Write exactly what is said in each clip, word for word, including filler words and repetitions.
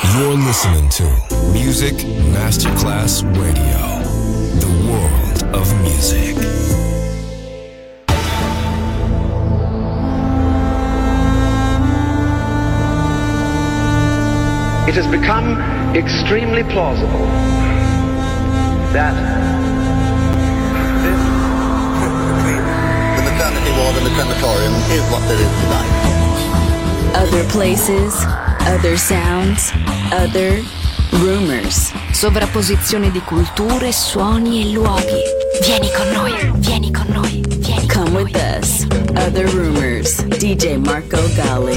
You're listening to Music Masterclass Radio, the world of music. It has become extremely plausible that this the maternity ward in the crematorium is what there is tonight. Other places, other sounds, other rumors. Sovrapposizione di culture, suoni e luoghi. Vieni con noi, vieni con noi, vieni con Come noi. With us. Other rumors. D J Marco Gally.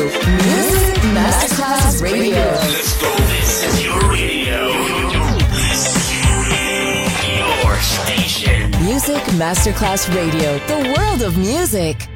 Music Masterclass Radio. Let's go. This is your radio. Your station. Music Masterclass Radio. The world of music.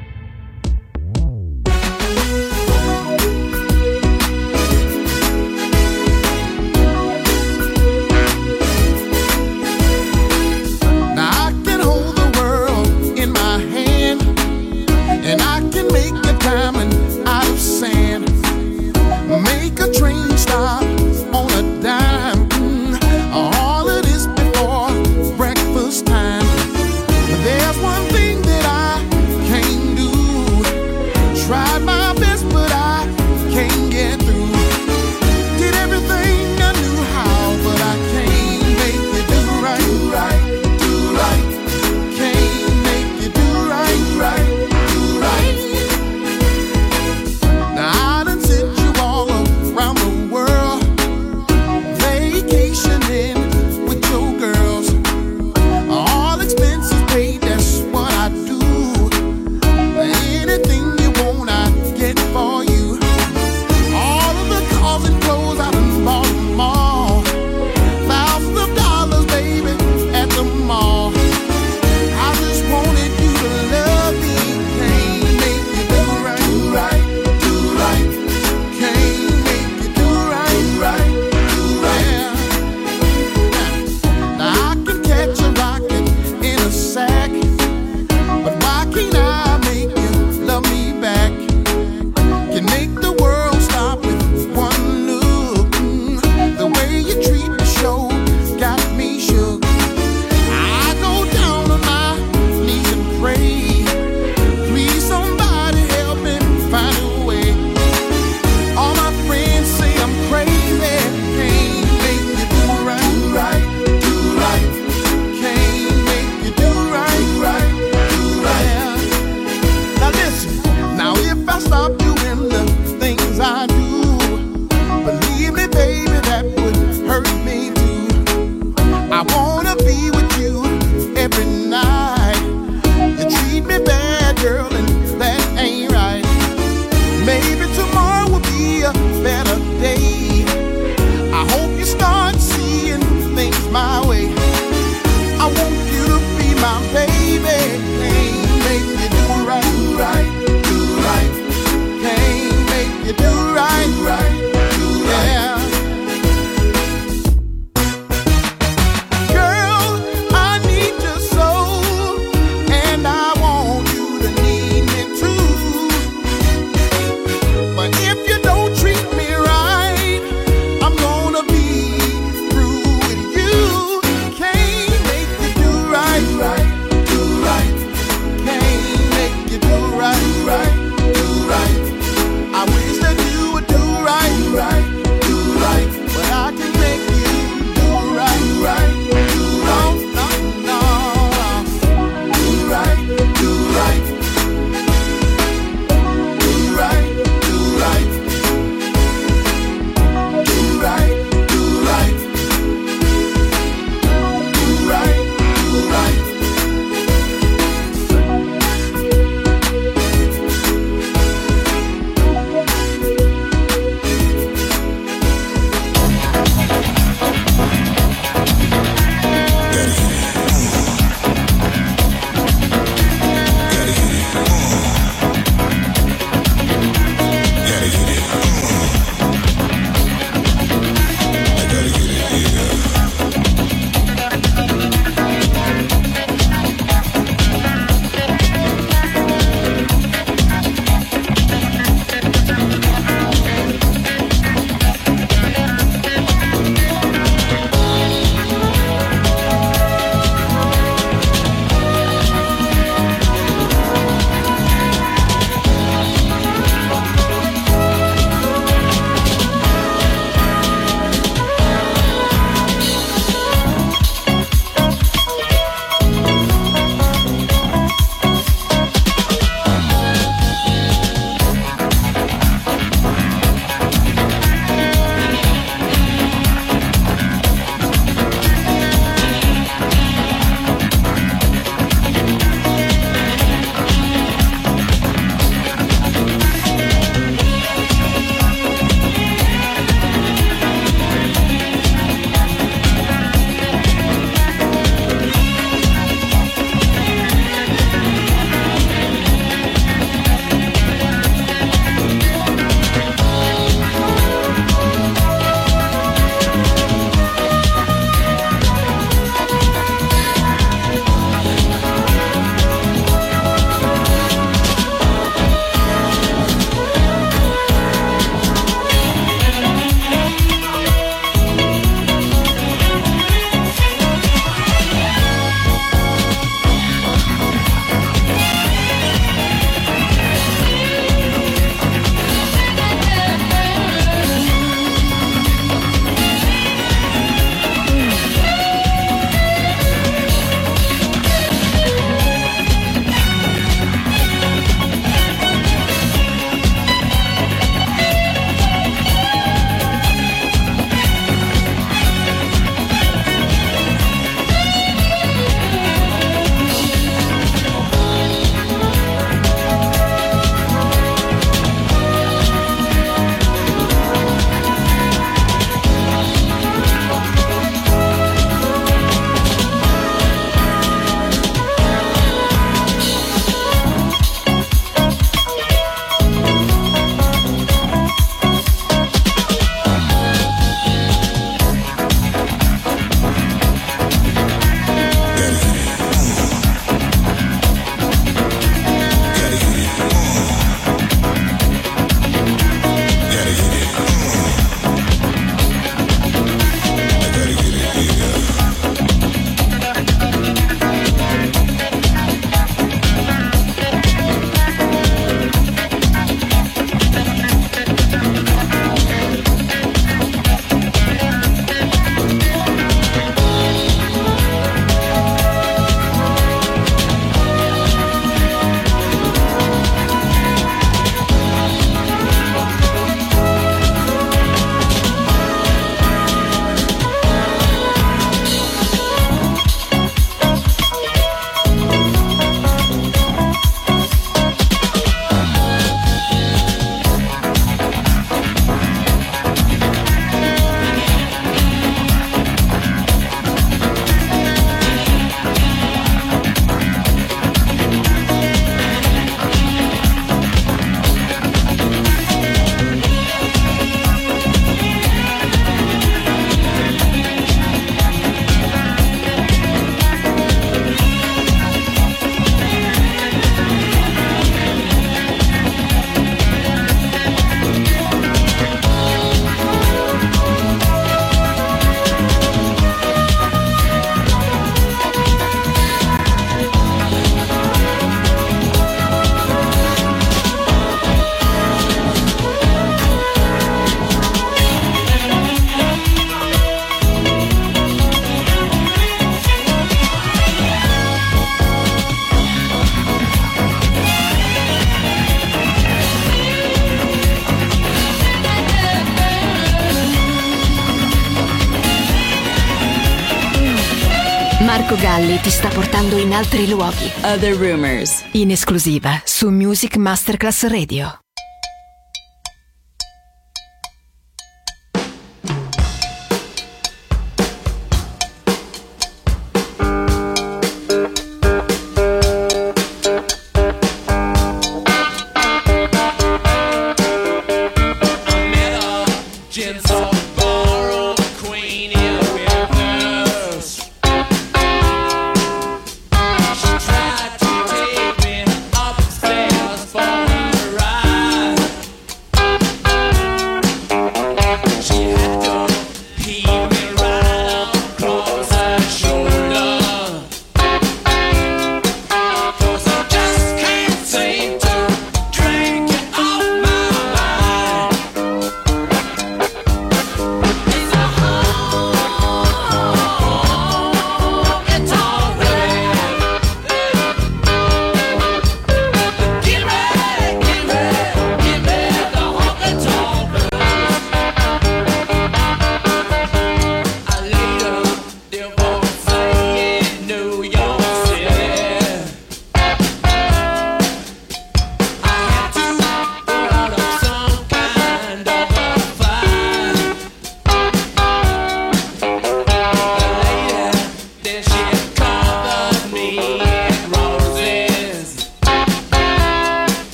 Girl, I need your soul, and I want you to need Marco Galli ti sta portando in altri luoghi. Other Rumors, In esclusiva su Music Masterclass Radio. Tried to take me upstairs for a ride.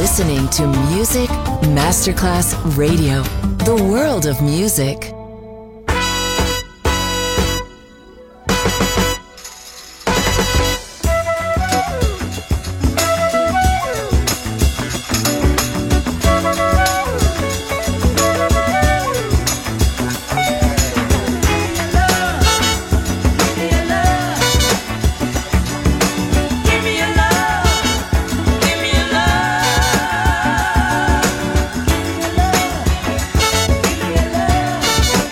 listening to Music Masterclass Radio, the world of music. Give me your love.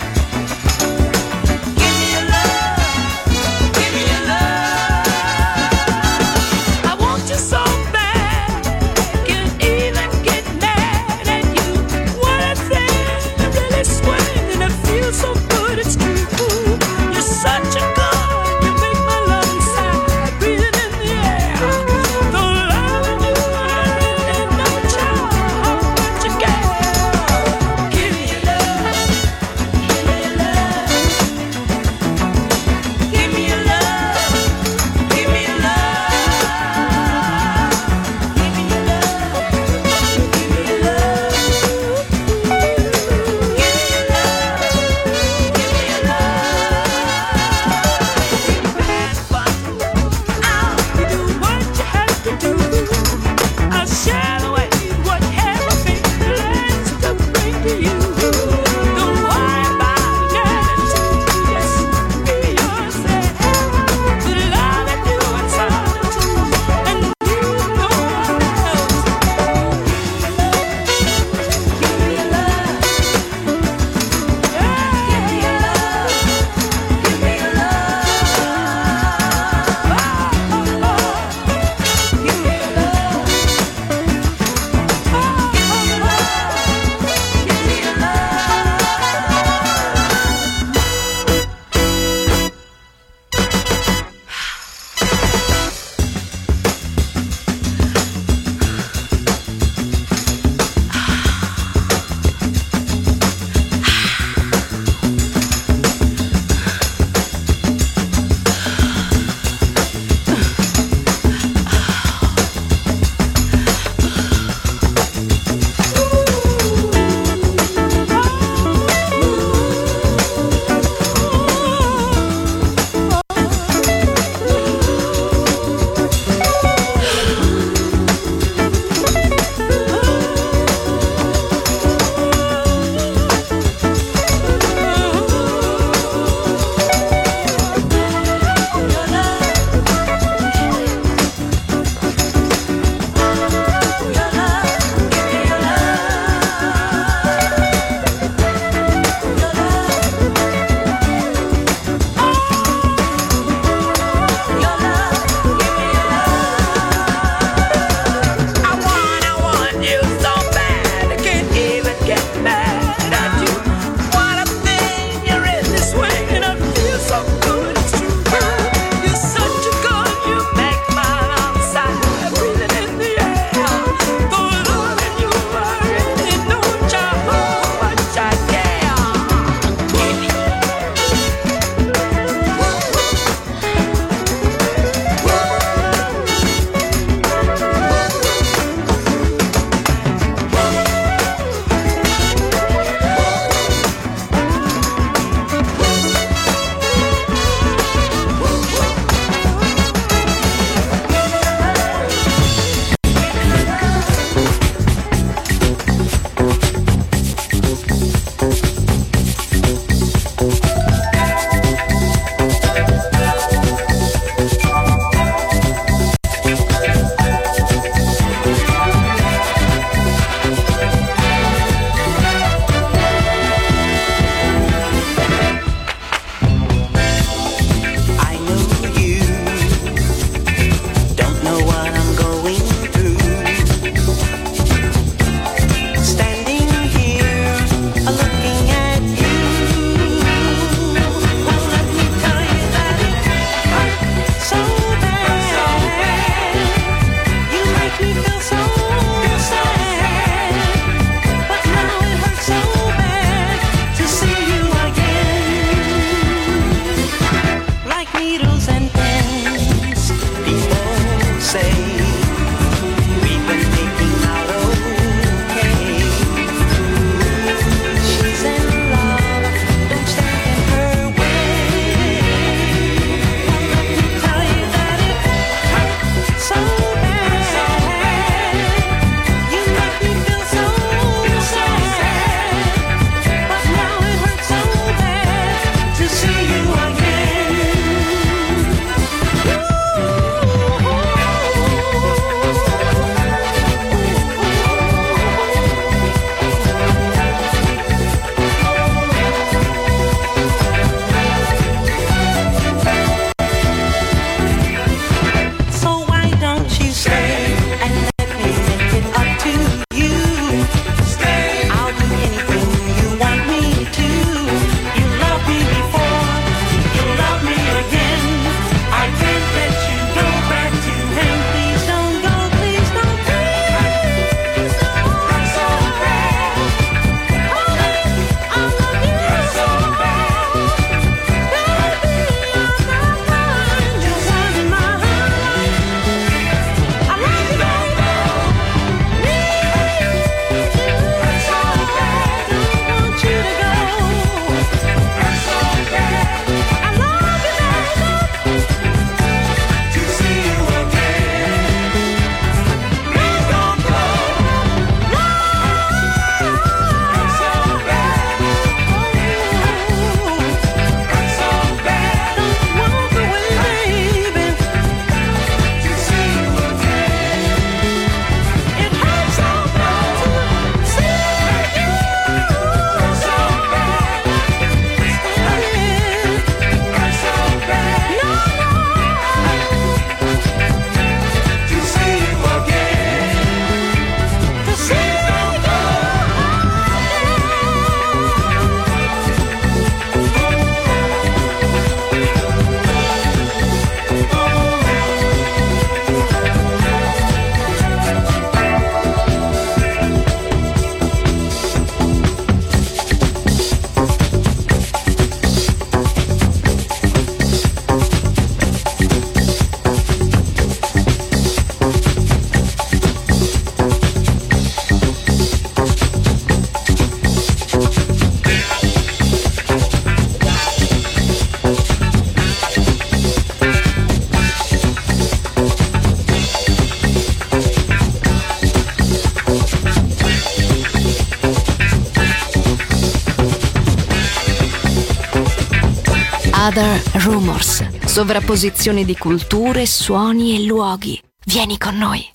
Other Rumors. Sovrapposizione di culture, suoni e luoghi. Vieni con noi.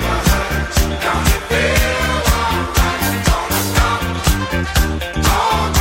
All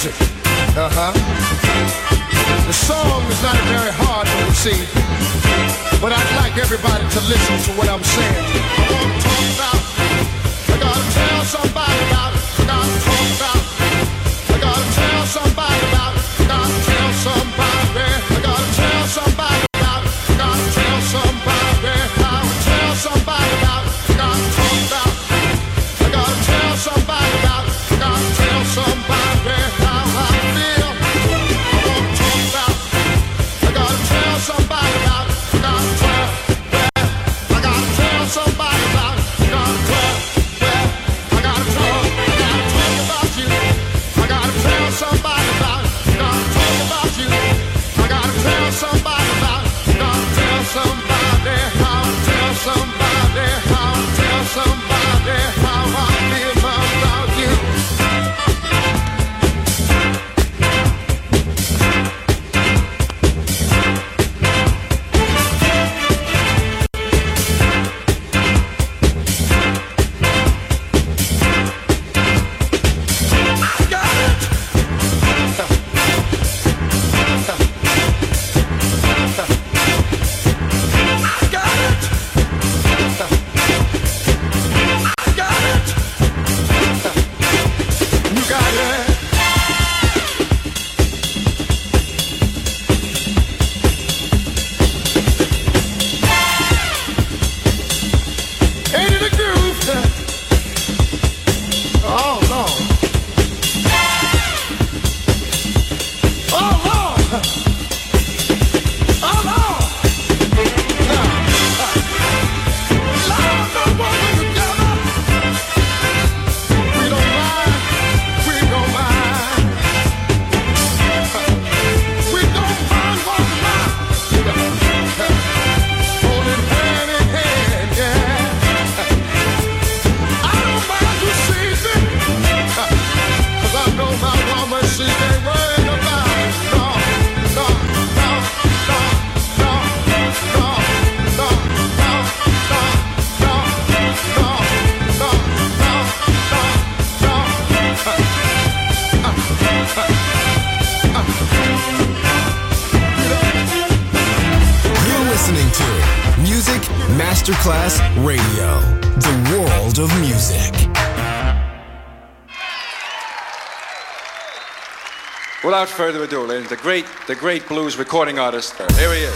music. Uh-huh. The song is not very hard to receive, but I'd like everybody to listen to what I'm saying. I want to talk about, I gotta tell somebody about it. I gotta talk about, I gotta tell somebody about it. I gotta tell somebody, I gotta tell somebody about it. I gotta tell somebody, I gotta tell somebody about it. I gotta talk about, I gotta tell somebody about it. I gotta tell somebody how I feel. I want to talk about, I gotta tell somebody about it. I gotta tell, well, I gotta tell somebody about it. I gotta tell, well, I gotta talk, I gotta talk about you. I gotta tell somebody about it. I gotta talk about you. I gotta tell somebody about it. I gotta tell somebody how, tell somebody how, tell somebody how I feel about you. Masterclass Radio, the world of music. Without further ado, ladies, the great, the great blues recording artist. Here he is.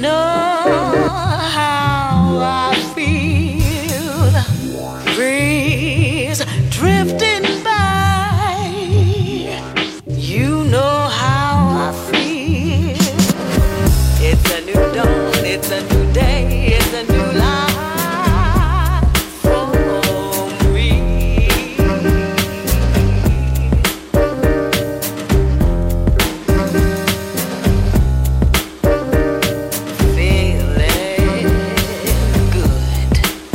know how I feel. Breeze drifting by. You know how I feel. It's a new dawn, it's a new day, it's a new life for me. Feeling good.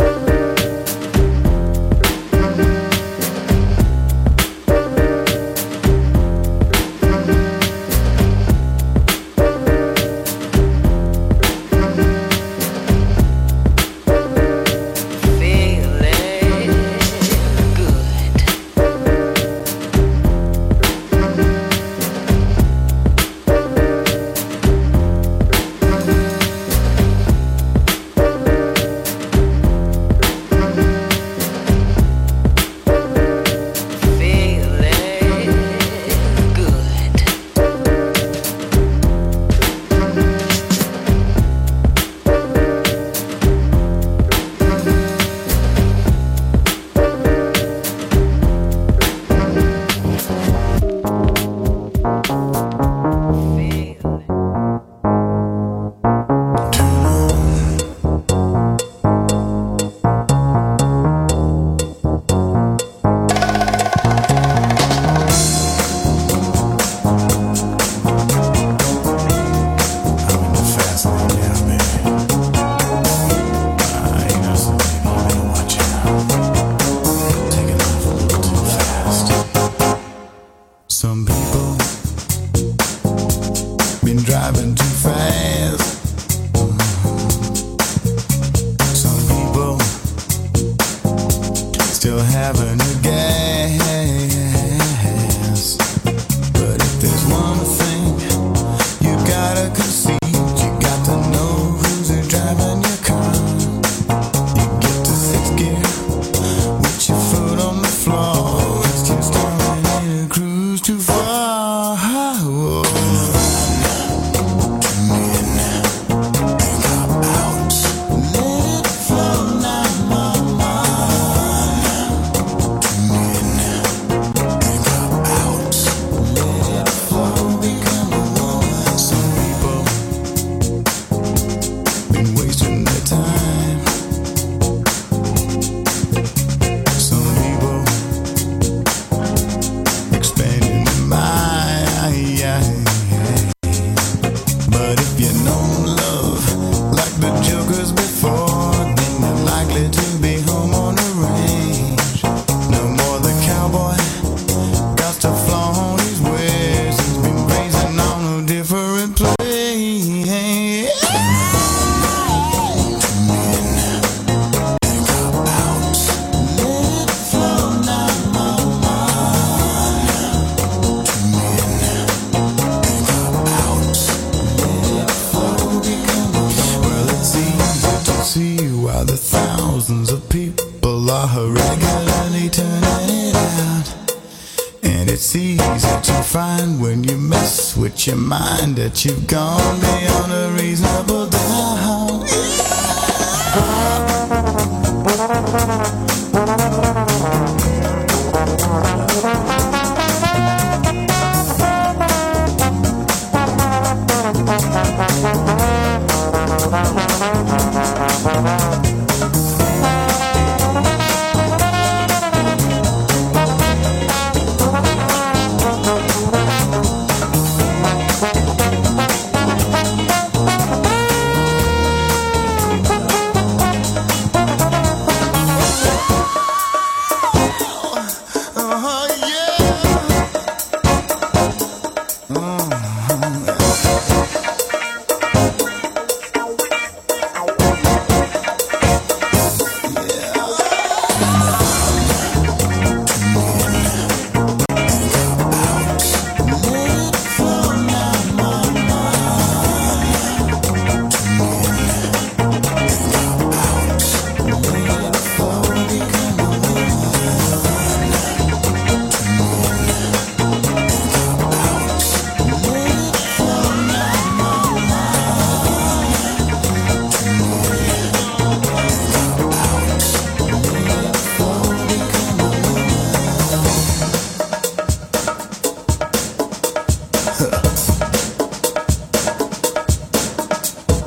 Some people been driving too fast. Some people still having a gas. But if there's one thing you gotta concede, you got to know who's driving your car. You get to sixth gear with your foot on the floor. It's just starting in a cruise too far. Whoa. Your mind that you've gone beyond a reasonable doubt.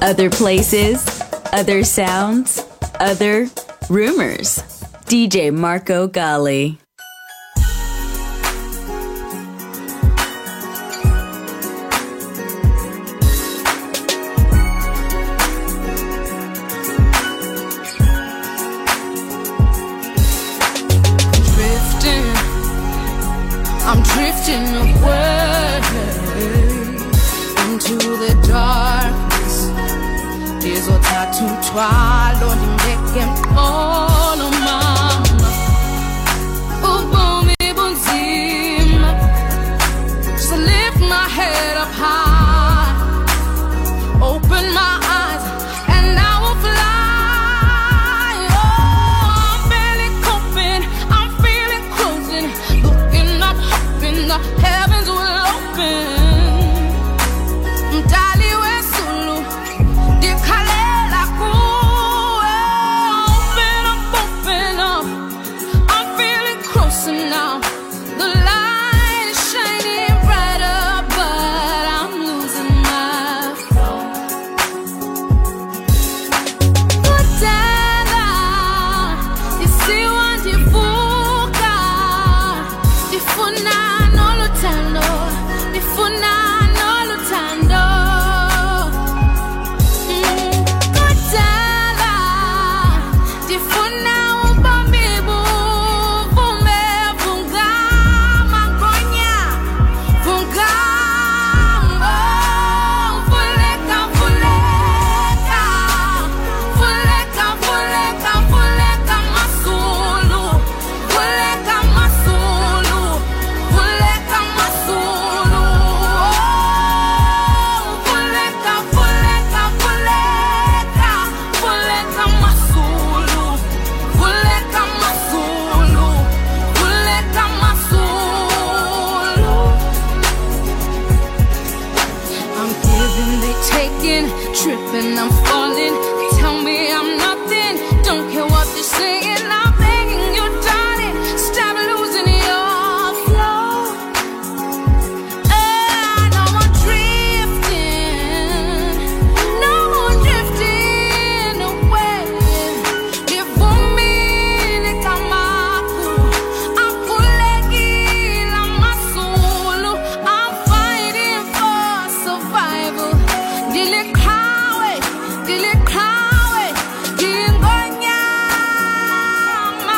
Other places, other sounds, other rumors. D J Marco Gally. Drifting, I'm drifting away into the darkness. Dizo thatha umthwalo ndimbeke mqolo mama, ubomi bunzima. Just lift my head up high, open my eyes and I will fly. Oh, I'm barely coping, I'm feeling closing, looking up, hoping the heavens will open. Mdali wesulu dikhalela kuwe, open up, open up. I'm feeling closer now. The light is shining brighter, but I'm losing my flow. Kudala isiwa ndivuka, ndifuna noluthando, ndifuna noluthando. Mm, kudala ndifuna ubomi buvume, vungama ngonya, vungama, vuleka, vuleka, vuleka, vuleka, vuleka masulu, vuleka masulu, vuleka masulu. Oh, vuleka, vuleka, vuleka, vuleka masulu, vuleka masulu, vuleka masulu. I'm giving, they taking, tripping, I'm falling. Tell me I'm nothing, don't care what they're saying. I'm begging you, darling, stop losing your flow. And no more drifting, no more drifting away. Livumile kamaku, akulekile masulu. I'm fighting for survival. Dilikawe, dilikawe, dingonyama.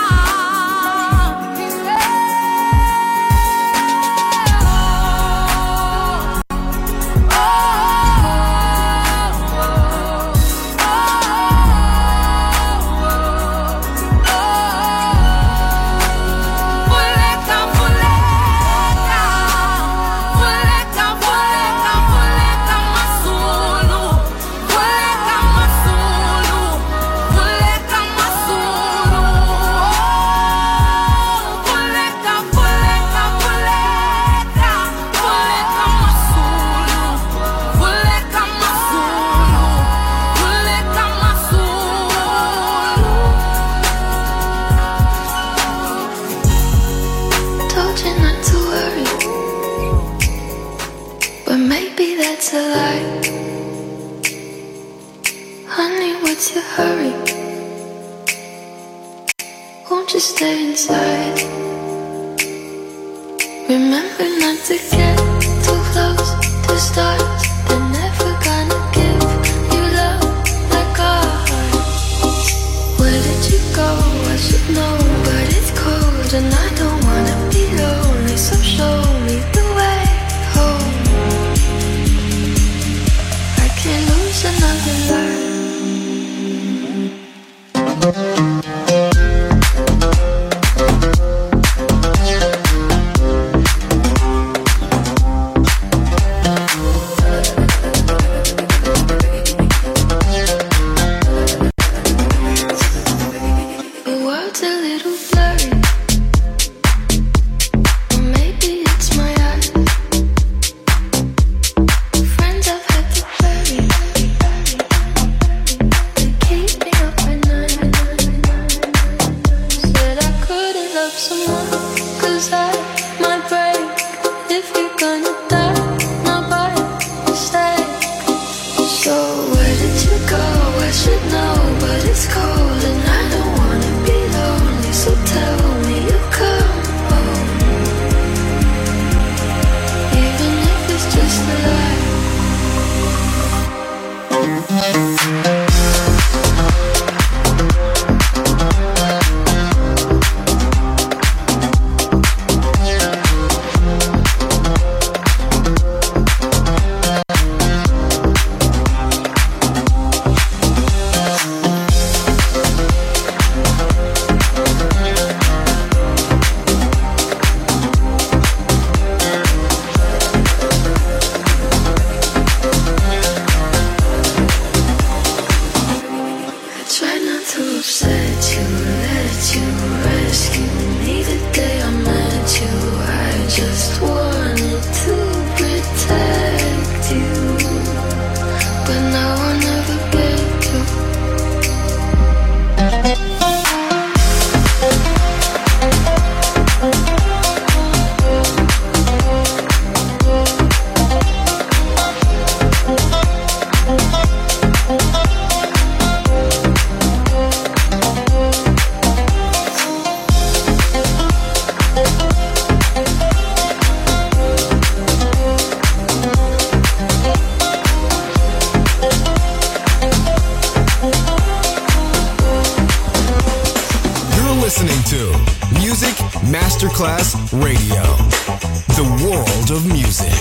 Vuleka, vuleka, vuleka, vuleka, vuleka masulu, vuleka masulu, vuleka masulu. Oh, vuleka, vuleka, vuleka, vuleka masulu, vuleka masulu, vuleka masulu. Told you not to worry, but maybe that's a lie. Honey, what's your hurry? Won't you stay inside? Remember not to get too close to stars. They're never gonna give you love like ours. Where did you go? I should know, but it's cold and I don't wanna be lonely. So show me the way home. I can't lose another life. The world's a little blurry, or maybe it's my eyes. Friends I've had to bury, they keep me up at night. to upset you, let you rescue me the day I met you. I just wanted to protect you, but now I'll never get to. Listening to Music Masterclass Radio, the world of music.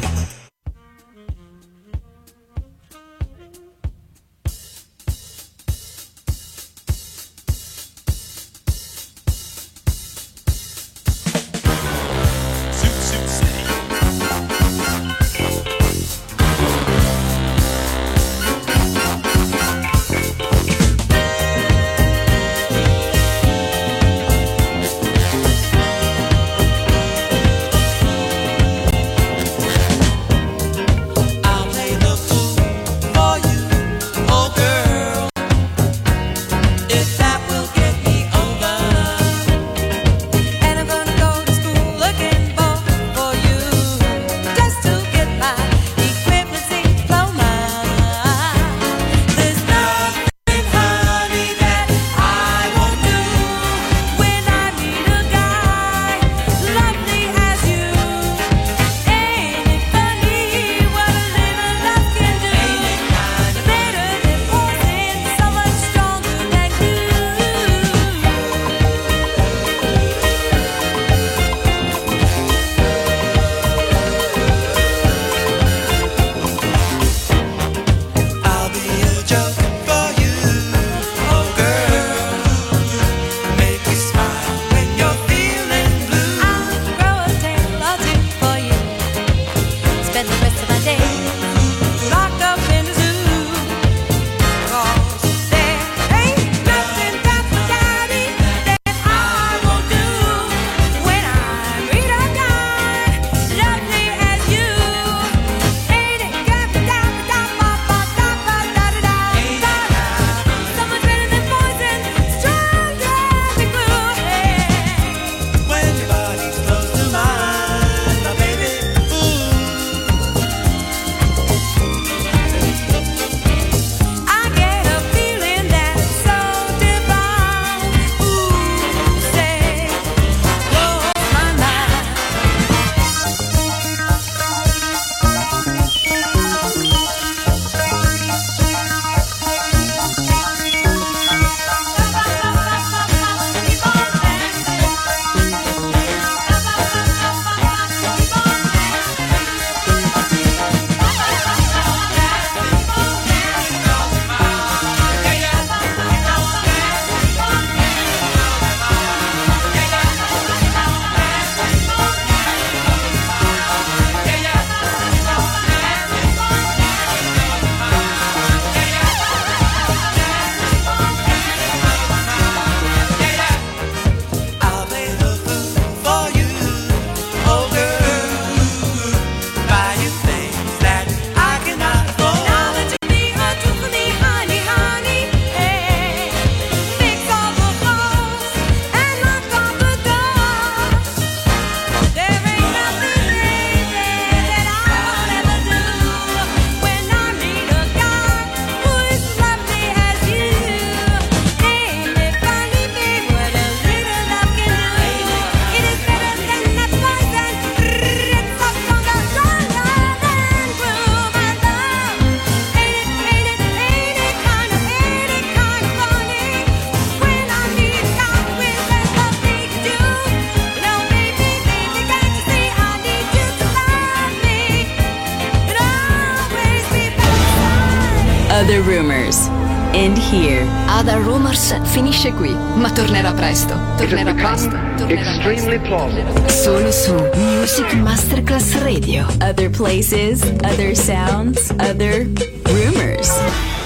Other Rumors. End here. Other Rumors finisce qui, ma tornerà presto. Tornerà presto. Tornerà extremely plausible. Solo su Music Masterclass Radio. Other places, other sounds, other rumors.